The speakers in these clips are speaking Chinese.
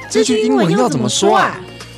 這句英文要怎麼說啊？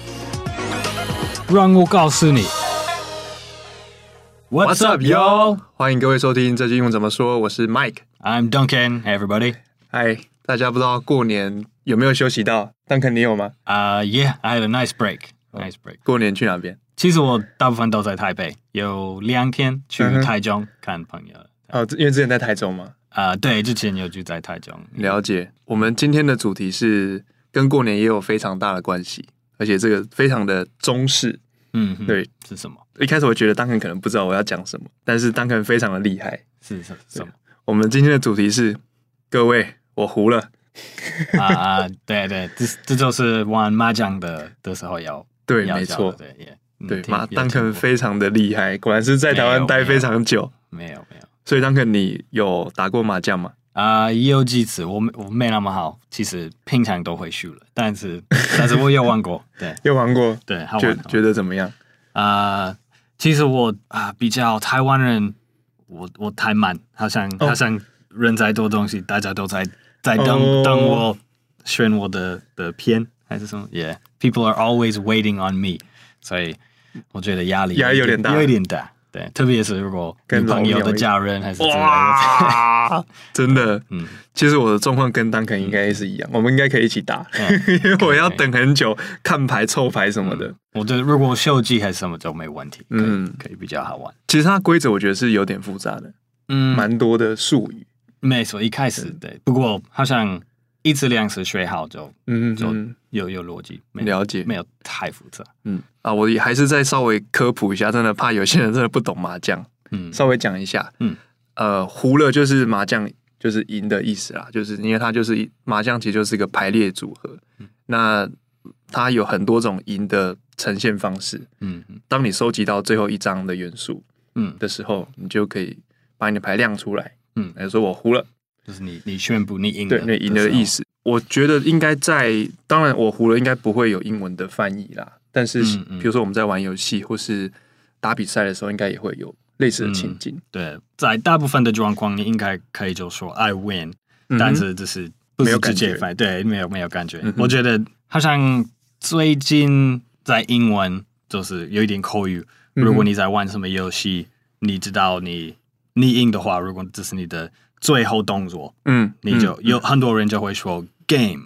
讓我告訴你。What's up, y'all？ 歡迎各位收聽這句英文怎麼說，我是 Mike。I'm Duncan. Hey, everybody. Hi， 大家不知道過年有沒有休息到 ？Duncan， 你有嗎 ？Yeah, I had a nice break. Nice break. 過年去哪邊？ 其實我大部分都在台北，有2天去台中看朋友。 哦，因為之前在台中嘛。 對，之前有住在台中。 了解。我們今天的主題是跟過年也有非常大的關係，而且這個非常的中式。對， 是什麼？ 一開始我覺得 Duncan 可能不知道我要講什麼，但是 Duncan 非常的厲害。 是什麼？ 我們今天的主題是，各位，我胡了。 對，這就是玩麻將的時候要對，沒錯，對，Duncan 非常的厲害，果然是在台灣待非常久。 沒有。 所以 Duncan 你有打過麻將嗎？ 也有幾次，我沒那麼好，其實平常都會輸了，但是我有玩過，對， 有玩過， 對，好玩。 覺得怎麼樣？ 其實我比較台灣人，我太慢，好像人在做東西，大家都在等我選我的片還是什麼 ？Yeah，people are always waiting on me， 所以我覺得壓力有點大。對，特別是如果女朋友的家人還是之類的， 真的，其實我的狀況跟 Duncan 應該是一樣，我們應該可以一起打，因為我要等很久看牌、湊牌什麼的。 我覺得如果秀技還是什麼就沒問題，可以比較好玩。 其實它規則我覺得是有點複雜的，蠻多的術語。沒錯， 一開始對，不過好像1次2次學好就有邏輯， 了解， 沒有太複雜。 我也還是再稍微科普一下，真的怕有些人真的不懂麻將，稍微講一下。胡了就是麻將就是贏的意思啦，就是因為它就是麻將其實就是一個排列組合，那它有很多種贏的呈現方式。當你收集到最後一張的元素的時候，你就可以把你的牌亮出來。來說我胡了。 就是你宣布你贏了， 對，你贏了的意思。我覺得應該當然我胡了應該不會有英文的翻譯啦，但是比如說我們在玩遊戲或是打比賽的時候，應該也會有類似的情境。 對，在大部分的狀況，你應該可以就說 I win，但是這是不是直接翻譯？對，沒有感覺。我覺得好像最近在英文就是有一點口語。如果你在玩什麼遊戲，你知道你贏的話，如果這是你的最後動作，你就有很多人就會說 game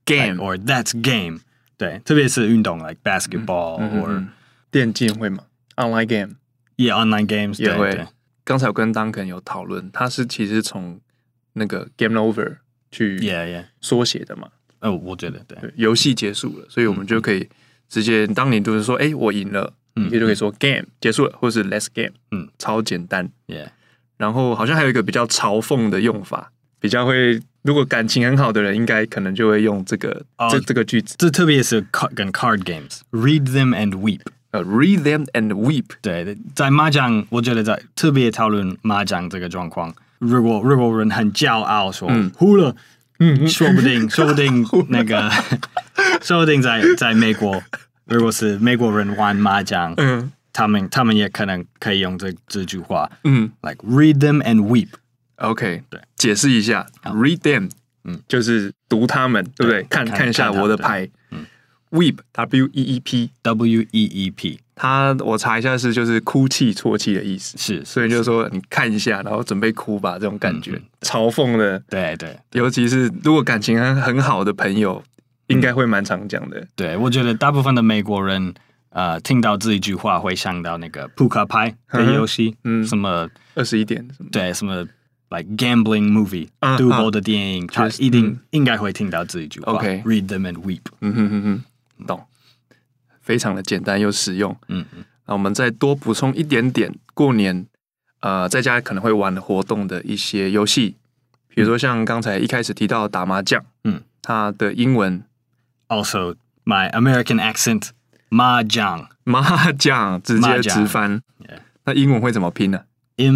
or that's game， 對，特別是運動 like basketball or 電競會嗎 ？Online game，online games 也會。剛才我跟 Duncan 有討論，他是其實從那個 game over 去縮寫的嘛。 我覺得對， 遊戲結束了，所以我們就可以直接，當你就是說，我贏了，你就可以說 game 結束了，或是 let's game，超簡單。然後好像還有一個比較嘲諷的用法，比較會，如果感情很好的人，應該可能就會用這個這個句子。 這特別是跟 card games，read them and weep。read them and weep。 對，在麻将，我覺得在特別討論麻將這個狀況，如果人很驕傲說胡了，說不定那個，說不定在美國，如果是美國人玩麻將，他們也可能可以用這句話，like read them and weep。OK， 對，解釋一下 ，read them，就是讀他們，對不对？看一下我的牌，weep，W-E-E-P，我查一下就是哭泣、啜泣的意思， 是， 所以就是說你看一下，然後準備哭吧，這種感覺，嘲諷的， 對， 尤其是如果感情很好的朋友，應該會蠻常講的。 對，我覺得大部分的美國人。聽到這一句話會想到那個撲克牌的遊戲，什麼 21點什麼， 對，什麼 like gambling movie，賭博的電影，他一定應該會聽到這一句話。read them and weep。 懂，非常的簡單又實用。那我們再多補充一點點過年在家可能會玩活動的一些遊戲，比如說像剛才一開始提到的打麻將，它的英文 also my American accent。麻將直接直翻，那英文會怎麼拼呢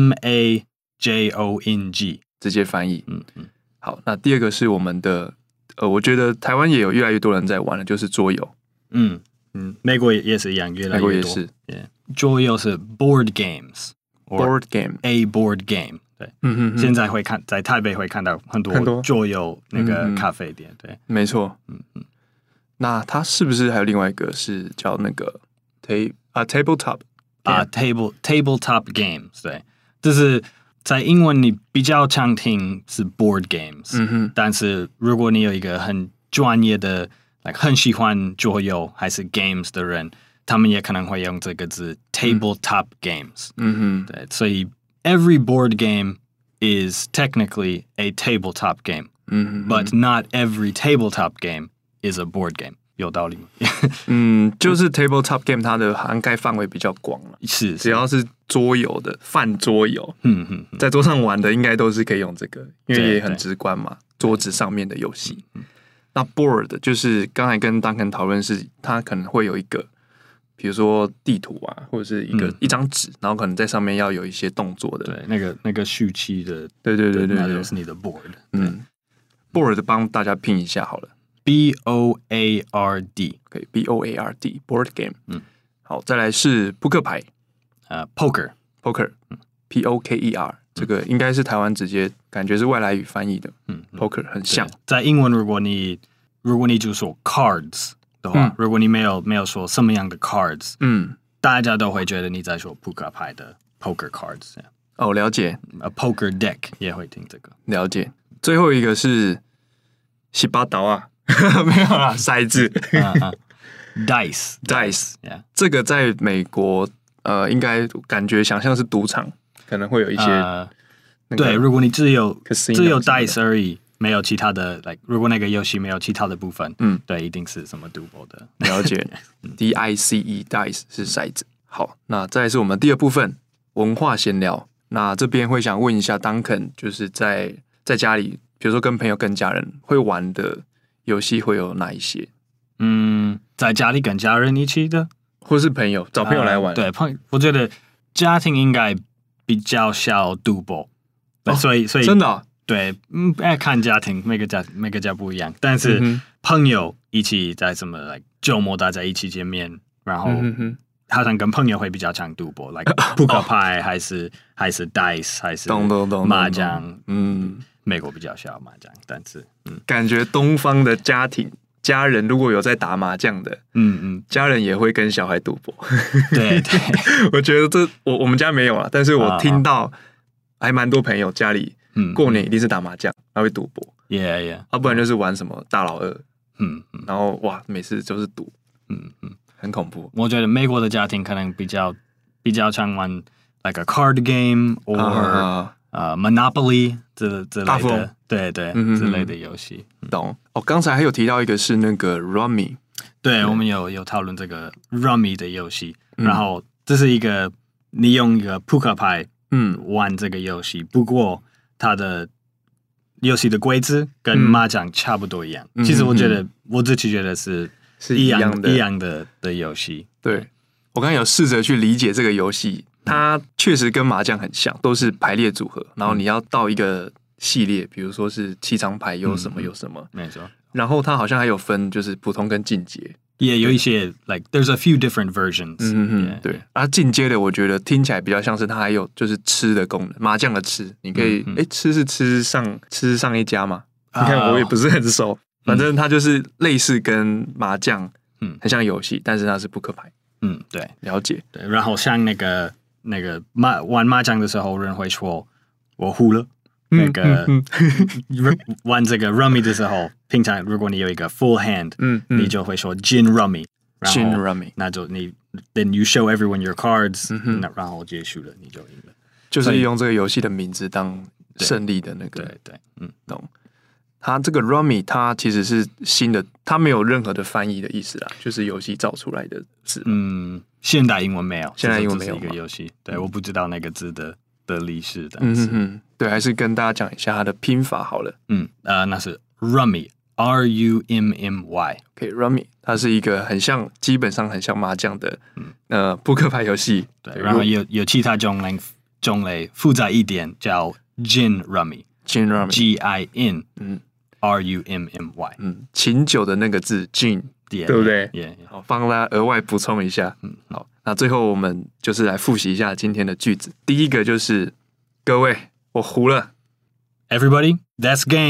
？MAJONG 直接翻譯。好，那第二個是我們的，我覺得台灣也有越來越多人在玩的，就是桌遊。 美國也是一樣，越來越多。 美國也是。 桌遊是 board games，board game，a board game。对，現在在台北會看到很多桌遊那個咖啡店。對， 沒錯。 那它是不是還有另外一個是叫那個 tabletop tabletop games？ 对，就是在英文你比較常聽是 board games，但是如果你有一個很專業的很喜歡桌遊還是 games 的人，他們也可能會用這個字 tabletop games。對，所以 every board game is technically a tabletop game，but not every tabletop game is a board game。有道理嗎？ 就是 tabletop game 它的涵蓋範圍比較廣了， 是只要是桌遊的泛桌遊，在桌上玩的應該都是可以用這個，因為也很直觀嘛，桌子上面的遊戲。那 board 就是剛才跟 Duncan 討論是，它可能會有一個，比如說地圖啊，或者是一張紙，然後可能在上面要有一些動作的， 對，那個序期的， 對， 那就是你的 board。 board 幫大家拼一下好了。 BOARD， 可以 BOARD board game。好，再來是撲克牌 ，poker POKER，這個應該是台灣直接感覺是外來語翻譯的，poker 很像。 在英文，如果你就說 cards 的話，如果你沒有說什麼樣的 cards，大家都會覺得你在說撲克牌的 poker cards。 哦，了解。 A poker deck 也會聽這個， 了解。最後一個是西巴刀啊。沒有啦，骰子 ，dice， 這個在美國，應該感覺想象是賭場，可能會有一些， 對，如果你只有 dice 而已，沒有其他的，如果那個遊戲沒有其他的部分，對，一定是什麼賭博的。 了解，DICE 是骰子。好，那再來是我們第二部分文化閒聊。那這邊會想問一下 Duncan， 就是在家裡，比如說跟朋友、跟家人會玩的遊戲會有哪一些？ 在家裡跟家人一起的， 或是朋友找朋友來玩。 對，我覺得家庭應該比較少賭博，所以真的對，看家庭，每個家不一樣。但是朋友一起在什麼周末大家一起見面，然後好像跟朋友會比較常賭博撲克牌還是 dice 還是麻將，美國比較少麻將，但是感覺東方的家人如果有在打麻將的，家人也會跟小孩賭博。 對， 我覺得我們家沒有啊，但是我聽到還蠻多朋友家裡過年一定是打麻將，還會賭博，要不然就是玩什麼大老二，然後哇，每次都是賭，很恐怖。 我覺得美國的家庭可能比較常玩 like a card game or Monopoly 之類的，對，之類的遊戲。 懂。剛才還有提到一個是那個 Rummy， 對，我們有討論這個 Rummy 的遊戲，然後這是一個你用一個撲克牌玩這個遊戲，不過它的遊戲的規則跟麻將差不多一樣。其實我自己覺得是一樣的遊戲。 對，我剛才有試着去理解這個遊戲。它確實跟麻將很像，都是排列組合，然後你要到一個系列，比如說是7張牌有什麼， 沒錯。 然後它好像還有分，就是普通跟進階， 也有一些 there's a few different versions。 對。而進階的，我覺得聽起來比較像是它還有就是吃的功能，麻將的吃，你可以吃上一家嘛？你看我也不是很熟，反正它就是類似跟麻將很像遊戲，但是它是撲克牌。 對， 了解。 對，然後像那個玩麻將的時候，人會說我胡了。那個玩這個 Rummy 的時候，平常如果你有一個 full hand，你就會說 Gin Rummy。Gin Rummy， 那就then you show everyone your cards，然後結束了，你就贏了。 就是用這個遊戲的名字當勝利的那個。 對， 懂。它這個 Rummy 它其實是新的，它沒有任何的翻譯的意思啦，就是遊戲造出來的字。 現代英文沒有， 現代英文沒有一個遊戲。對，我不知道那個字的歷史的。 對，還是跟大家講一下它的拼法好了。 那是 Rummy RUMMY。OK， Rummy 它是一個很像，基本上很像麻將的撲克牌遊戲。 對，然後有其他種類複雜一點叫 Gin Rummy。Gin Rummy。GIN RUMMY。 琴酒的那個字 Gin， 對不對？好，幫大家額外補充一下。好，那最後我們就是來複習一下今天的句子。第一個就是各位，我胡了。 Everybody, that's game.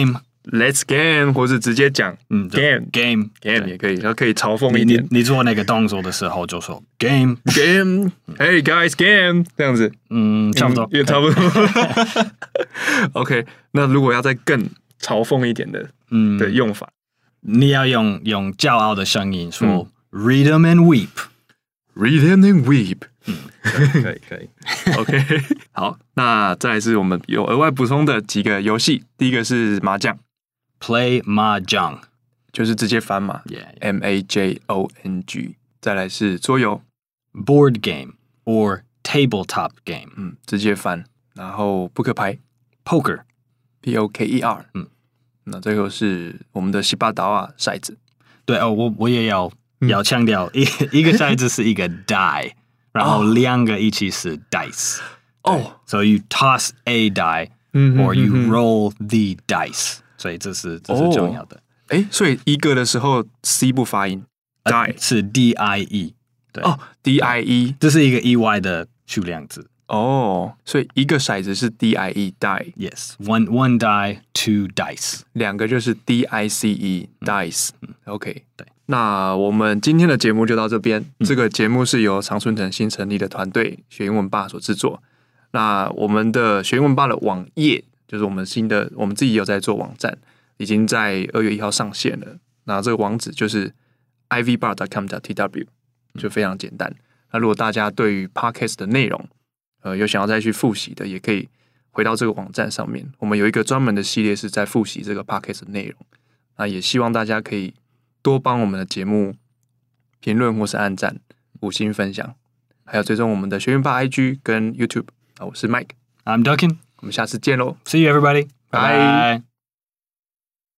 Let's game， 或是直接講game 也可以，然後可以嘲諷一點。 你做那個動作的時候就說 game，Hey guys game 這樣子， 差不多， 也差不多。OK， 那如果要再更嘲諷一點的用法， 你要用驕傲的聲音說 Read them and weep，Read them and weep。 可以。 OK， 好，那再來是我們有額外補充的幾個遊戲。第一個是麻將 ，Play Mahjong， 就是直接翻嘛 ，MAJONG。再來是桌遊 ，Board Game or Tabletop Game， 直接翻。然後扑克牌 ，Poker，POKER， 那最後是我們的西巴島啊骰子。 對哦，我也要強調，一個骰子是一個 die。然後兩個一起是 dice， so you toss a die or you roll the dice， 所以這是重要的。 所以一個的時候 C 不發音 ，die 是 DIE， 對 ，DIE， 這是一個意外的數量字。 所以一個骰子是 DIE die，yes，one die two dice， 兩個就是 DICE dice，OK， 对。那我們今天的節目就到這邊。這個節目是由常春藤新成立的團隊學英文吧所製作。那我們的學英文吧的網頁，就是我們自己有在做網站，已經在2月1號上線了。那這個網址就是 ivbar.com.tw， 就非常簡單。那如果大家對於 podcast 的內容，有想要再去複習的，也可以回到這個網站上面。我們有一個專門的系列是在複習這個 podcast 的內容。那也希望大家可以多幫我們的節目評論或是按讚、5星分享，還有追蹤我們的學英文吧 IG 跟 YouTube。我是 Mike，I'm Duncan， 我們下次見嘍 ，See you everybody，拜拜。